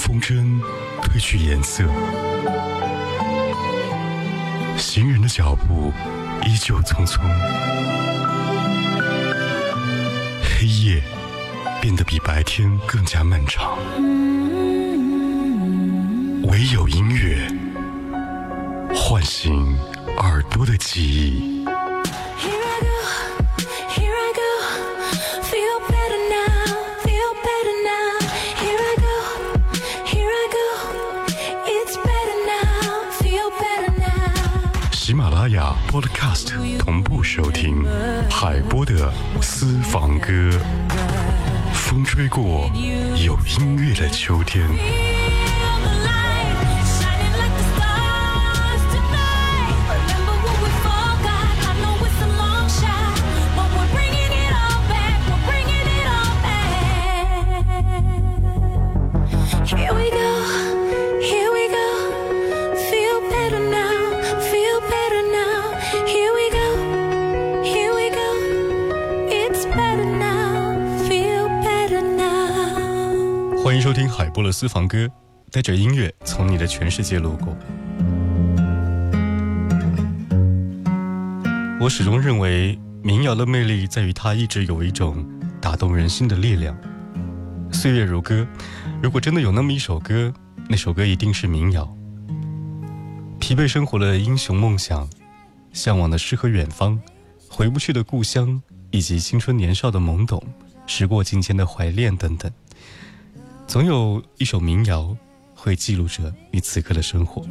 风筝褪去颜色，行人的脚步依旧匆匆，黑夜变得比白天更加漫长，唯有音乐唤醒耳朵的记忆。喜马拉雅 Podcast 同步收听海波的私房歌，风吹过有音乐的秋天。欢迎收听海波的私房歌，带着音乐从你的全世界路过。我始终认为民谣的魅力在于它一直有一种打动人心的力量。岁月如歌，如果真的有那么一首歌，那首歌一定是民谣。疲惫生活的英雄梦想，向往的诗和远方，回不去的故乡，以及青春年少的懵懂，时过境迁的怀恋等等，总有一首民谣会记录着你此刻的生活。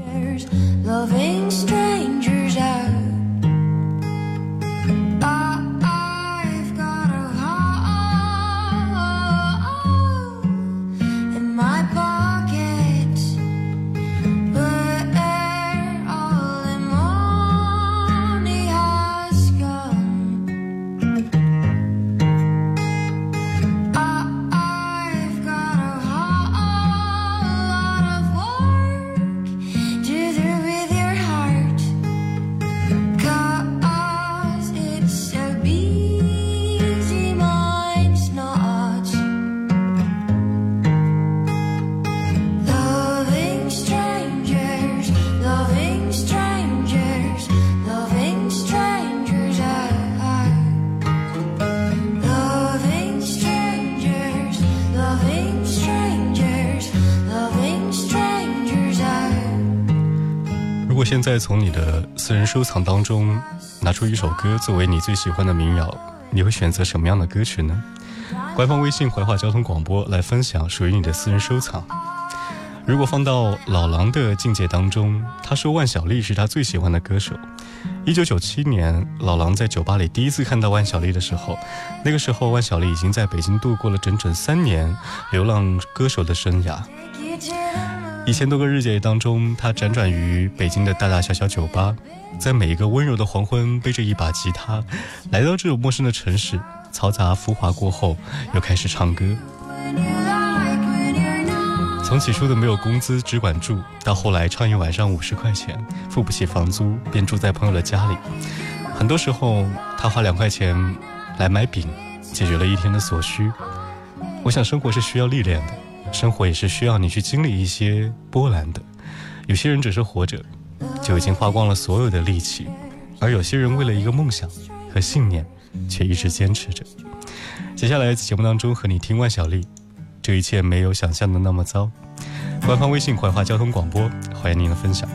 如果现在从你的私人收藏当中拿出一首歌作为你最喜欢的民谣，你会选择什么样的歌曲呢？官方微信怀化交通广播来分享属于你的私人收藏。如果放到老狼的境界当中，他说万晓利是他最喜欢的歌手。1997年老狼在酒吧里第一次看到万晓利的时候，那个时候万晓利已经在北京度过了整整3年流浪歌手的生涯。1000多个日夜当中，他辗转于北京的大大小小酒吧，在每一个温柔的黄昏，背着一把吉他来到这种陌生的城市，嘈杂浮华过后又开始唱歌。从起初的没有工资只管住，到后来唱一晚上50块钱，付不起房租便住在朋友的家里。很多时候他花2块钱来买饼，解决了一天的所需。我想生活是需要历练的，生活也是需要你去经历一些波澜的。有些人只是活着就已经花光了所有的力气，而有些人为了一个梦想和信念却一直坚持着。接下来节目当中和你听万晓利，这一切没有想象的那么糟。官方微信怀化交通广播，欢迎您的分享。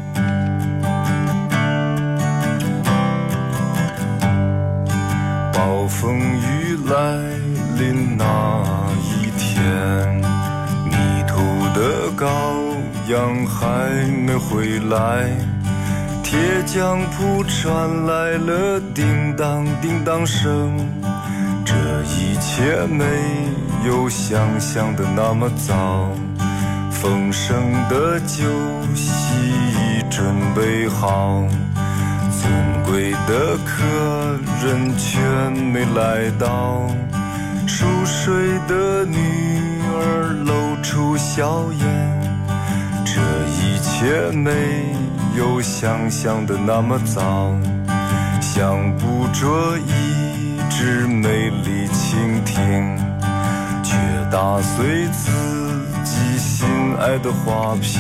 暴风雨来临那一天，迷途的羔羊还没回来，铁匠铺传来了叮当叮当声，这一切没有想象的那么糟，丰盛的酒席已准备好，尊贵的客人全没来到，熟睡的女儿露出笑颜，这一切没有想象的那么糟，想捕捉一只美丽蜻蜓，却打碎自寄心爱的花瓶，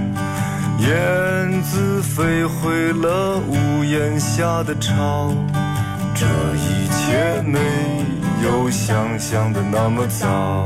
燕子飞回了屋檐下的巢，这一切没有想象的那么糟。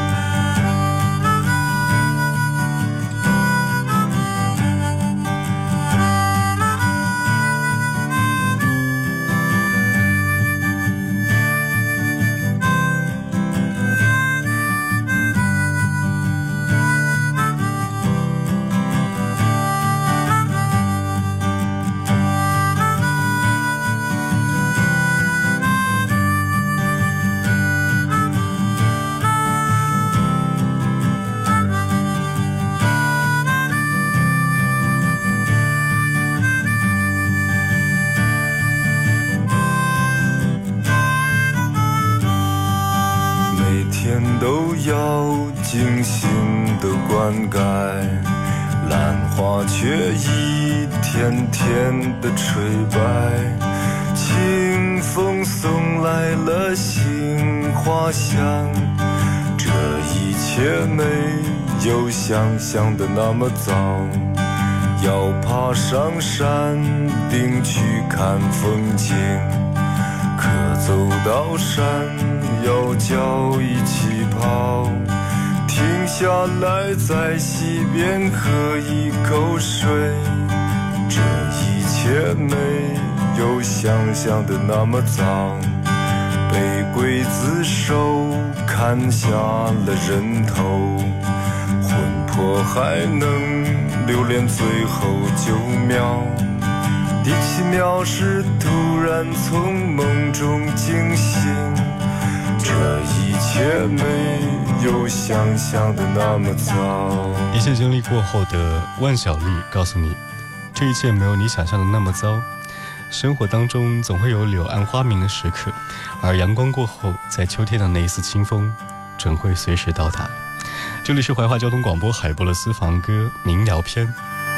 都要精心的灌溉，兰花却一天天的垂败，清风送来了杏花香，这一切没有想象的那么糟。要爬上山顶去看风景，可走到山要脚一起跑，停下来在溪边喝一口水，这一切没有想象的那么糟。被刽子手砍下了人头，魂魄还能留恋最后9秒，第7秒是突然从梦中惊醒，这一切没有想象的那么糟。 一切经历过后的万晓利告诉你，这一切没有你想象的那么糟。生活当中总会有柳暗花明的时刻，而阳光过后，在秋天的那一丝清风准会随时到达。这里是怀化交通广播海波的私房歌民谣篇。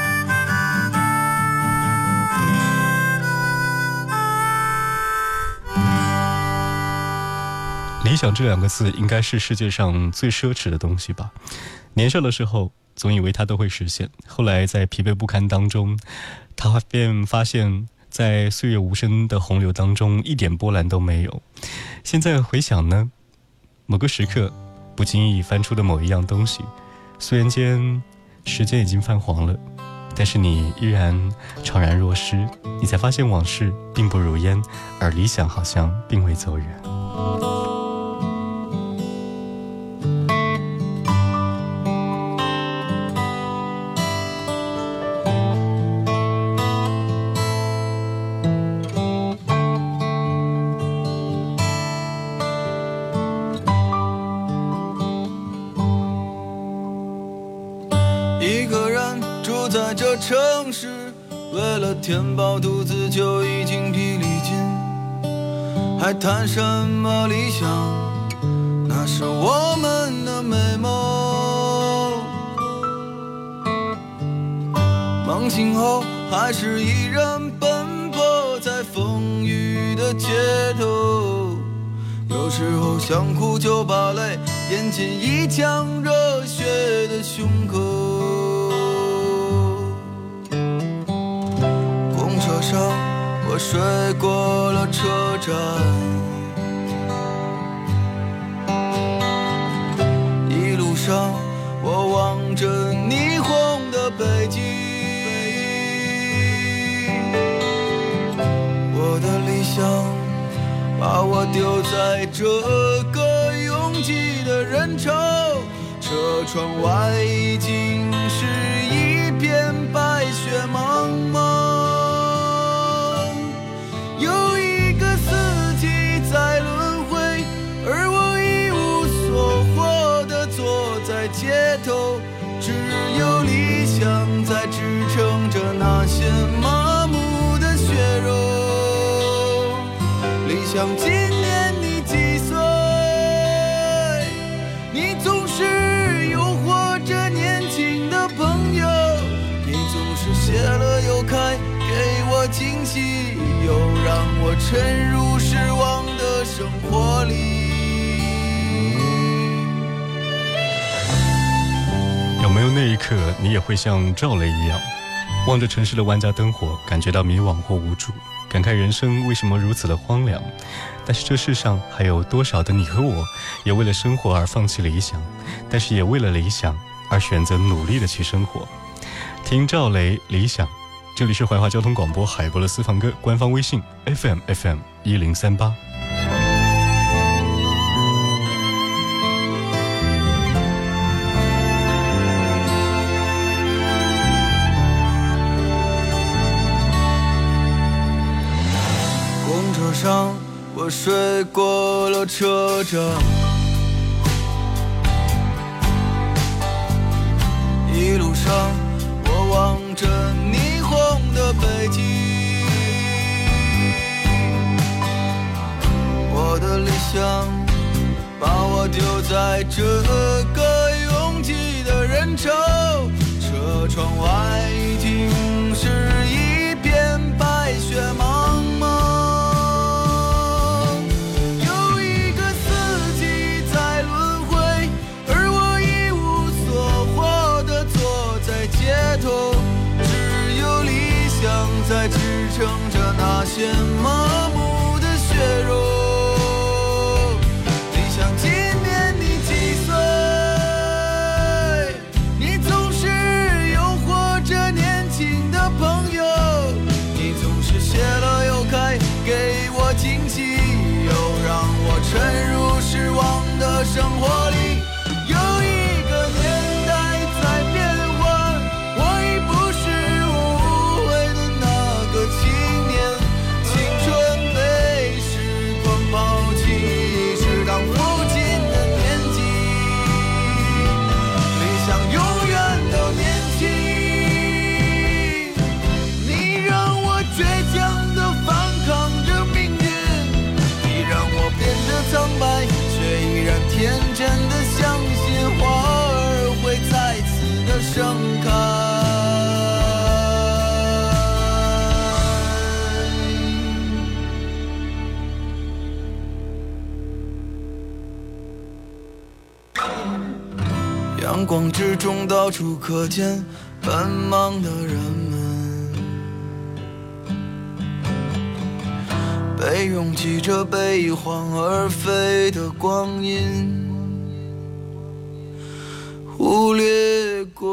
理想这2个字应该是世界上最奢侈的东西吧。年少的时候总以为它都会实现，后来在疲惫不堪当中，他便发现在岁月无声的洪流当中一点波澜都没有。现在回想呢，某个时刻不经意翻出的某一样东西，虽然间时间已经泛黄了，但是你依然怅然若失，你才发现往事并不如烟，而理想好像并未走远。 在这城市，为了填饱肚子就已经疲力尽，还谈什么理想？那是我们的美梦。梦醒后还是一人奔波在风雨的街头，有时候想哭就把泪咽进一腔热血的胸口。车上我睡过了车站，一路上我望着霓虹的北京，我的理想把我丢在这个拥挤的人潮，车窗外已经是一片白雪茫茫，有一个四季在轮回，而我一无所获地坐在街头，只有理想在支撑着那些麻木的血肉。理想今年你几岁？你总是诱惑着年轻的朋友，你总是谢了又开，给我惊喜，又让我沉入失望的生活里。 没有那一刻你也会像赵雷一样，望着城市的万家灯火，感觉到迷惘或无助，感慨人生为什么如此的荒凉？但是这世上还有多少的你和我，也为了生活而放弃理想，但是也为了理想而选择努力的去生活。听赵雷理想，这里是怀化交通广播海波的私房歌官方微信 FM1038。 公车上我睡过了车站，一路上我望着霓虹的北京，我的理想把我丢在这个拥挤的人潮，车窗外已经是一片白雪茫茫，有一个四季在轮回，而我一无所获地坐在街头，只有理想在支撑着那些麻木的血肉。理想今年你几岁？你总是诱惑着年轻的朋友，你总是谢了又开，给我惊喜，又让我沉入失望的生活里。有一个年代在变换，我已不是无悔的那个青年，青春被时光抛弃，是当父亲的年纪，理想永远都年轻。你让我倔强地反抗着命运，你让我变得苍白，却依然天真地相信花儿会再次的盛开。阳光之中到处可见奔忙的人们，被拥挤着被一晃而飞的光阴忽略过。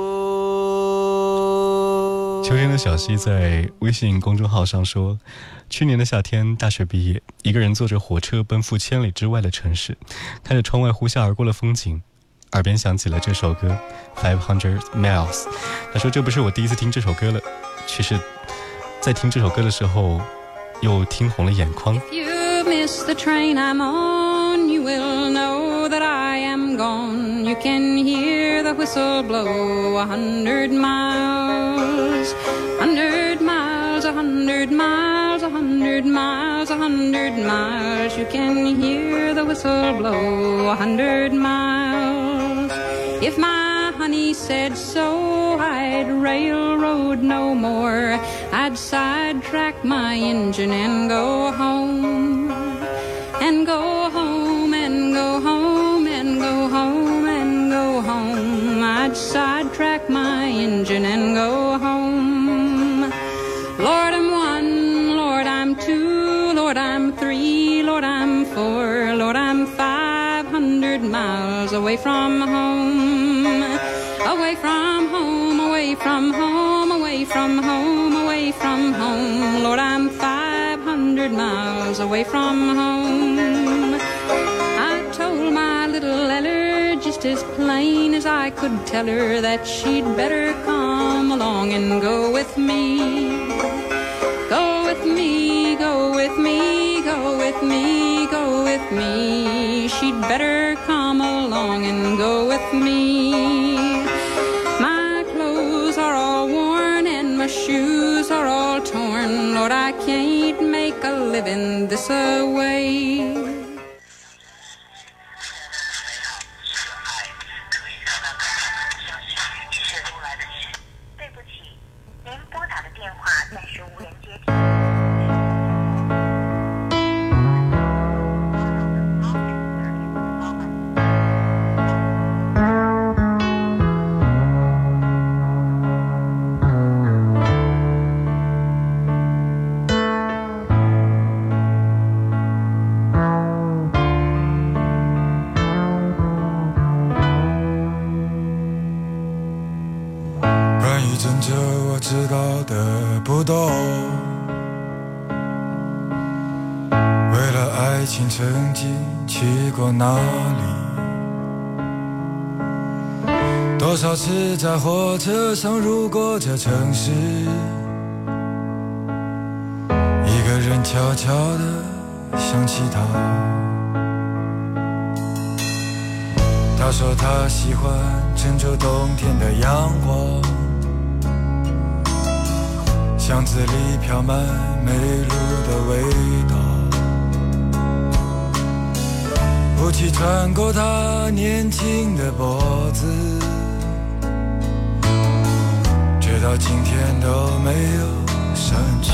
秋天的小溪在微信公众号上说，去年的夏天，大学毕业，一个人坐着火车奔赴千里之外的城市，看着窗外呼啸而过的风景，耳边响起了这首歌500 Miles。 他说这不是我第一次听这首歌了，其实在听这首歌的时候又听红了眼眶。 If you miss the train I'm on, you will know that I am gone. You can hear the whistle blow 100 miles, 100 miles, 100 miles, 100 miles, 100 miles. You can hear the whistle blow 100 miles. If my honey said so, I'd railroad no more. I'd sidetrack my engine and go home, and go home, and go home, and go home, and go home. I'd sidetrack my engine and go home. Lord, I'm one, Lord, I'm two, Lord, I'm three, Lord, I'm four, Lord, I'm 500 miles away from home. Away from home, away from home, away from home, away from home. Lord, I'm 500 miles away from home. I told my little Eller just as plain as I could tell her that she'd better come along and go with me. Go with me, go with me, go with me, go with me. She'd better come along and go with me. My clothes are all worn and my shoes are all torn. Lord, I can't make a living this away. 对不起，您拨打的电话暂时无人接听。 真着我知道的不多，为了爱情曾经去过哪里，多少次在火车上路过这城市，一个人悄悄地想起他。他说他喜欢郑州冬天的阳光，巷子里飘满梅露的味道，雾气穿过他年轻的脖子，直到今天都没有散去。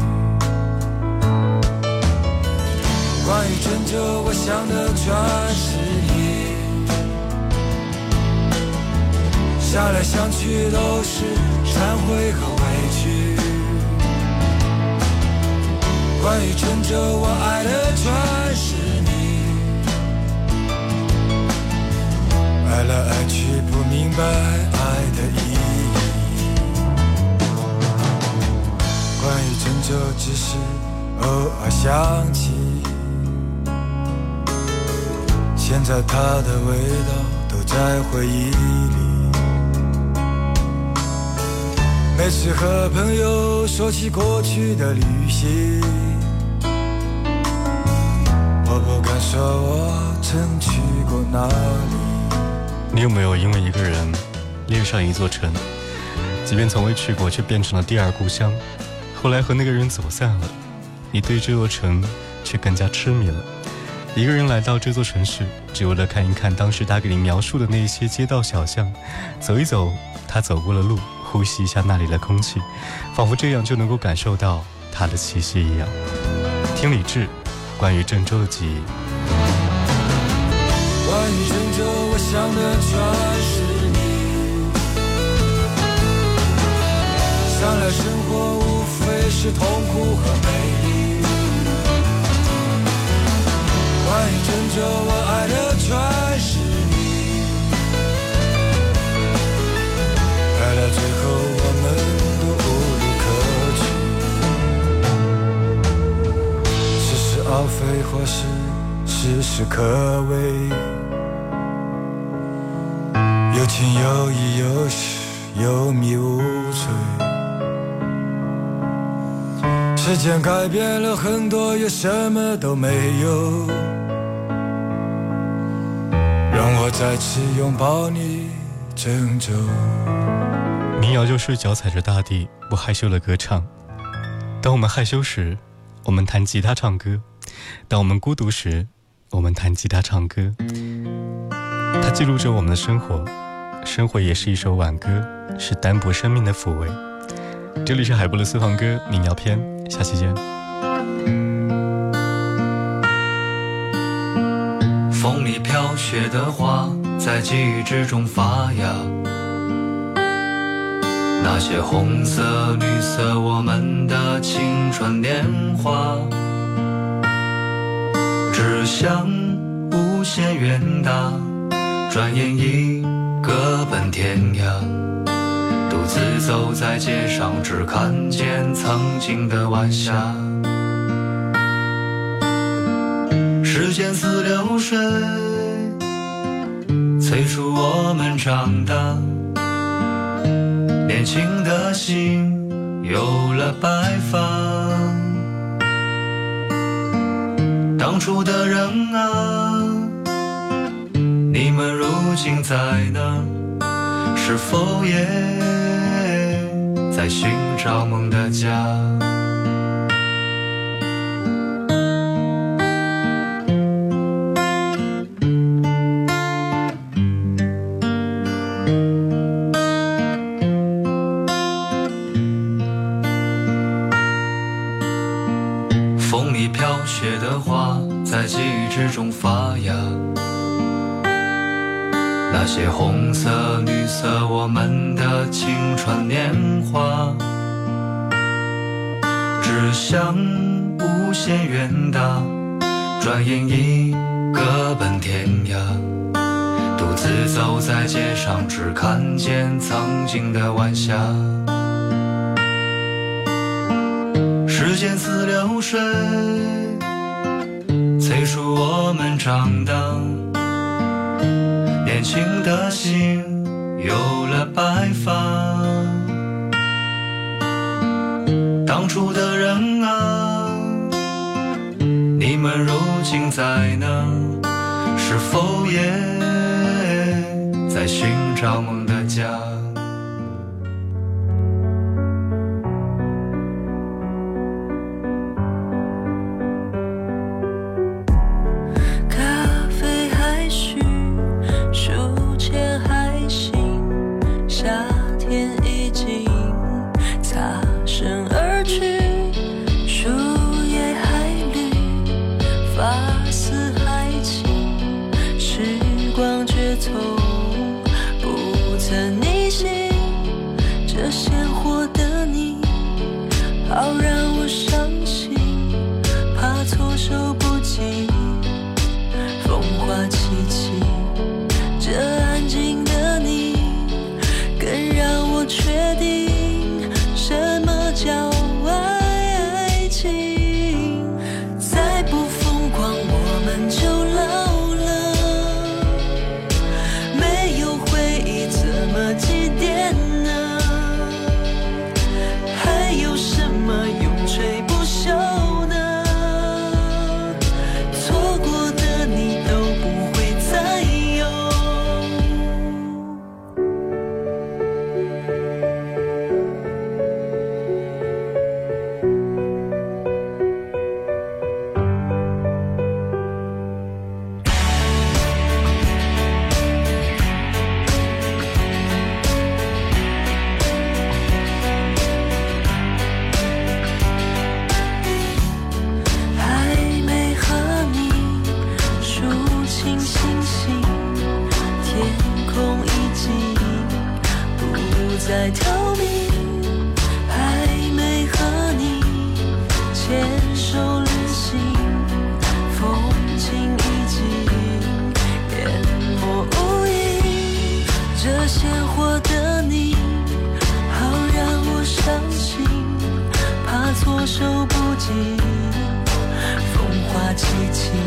关于郑州，我想的全是你，想来想去都是忏悔和委屈。关于郑州，我爱的全是你，爱来爱去不明白爱的意义。关于郑州，只是偶尔想起，现在它的味道都在回忆里。每次和朋友说起过去的旅行，我不敢说我曾去过哪里。 你有没有因为一个人恋上一座城，即便从未去过，却变成了第二故乡？后来和那个人走散了，你对这座城却更加痴迷了。一个人来到这座城市，只为了看一看当时他给你描述的那些街道小巷，走一走他走过的路，呼吸一下那里的空气，仿佛这样就能够感受到他的气息一样。听李志关于郑州的记忆。 关于郑州，我想的全是你，想来生活无非是痛苦和美丽。关于郑州，我爱的全是你，爱到最后我们都无路可去，似是而非或是时时可畏，有情有义有时有迷无醉。时间改变了很多，也什么都没有，让我再次拥抱你郑州。 民谣就是脚踩着大地，不害羞的歌唱。当我们害羞时，我们弹吉他唱歌；当我们孤独时，我们弹吉他唱歌。它记录着我们的生活，生活也是一首挽歌，是单薄生命的抚慰。这里是海波的私房歌民谣篇，下期见。 风里飘雪的花在记忆之中发芽，那些红色绿色我们的青春年华，志向无限远大，转眼已各奔天涯，独自走在街上，只看见曾经的晚霞。时间似流水，催促我们长大，年轻的心有了白发。当初的人啊，你们如今在哪？是否也在寻找梦的家？风里飘雪的花在记忆之中发芽，那些红色绿色我们的青春年华，志向无限远大，转眼已各奔天涯，独自走在街上，只看见曾经的晚霞。 时间似流水，催促我们长大，年轻的心有了白发。当初的人啊，你们如今在哪？是否也在寻找梦的家？ 在逃避，还没和你牵手旅行，风景已经淹没无影。这鲜活的你，好让我伤心，怕措手不及，风花凄凄。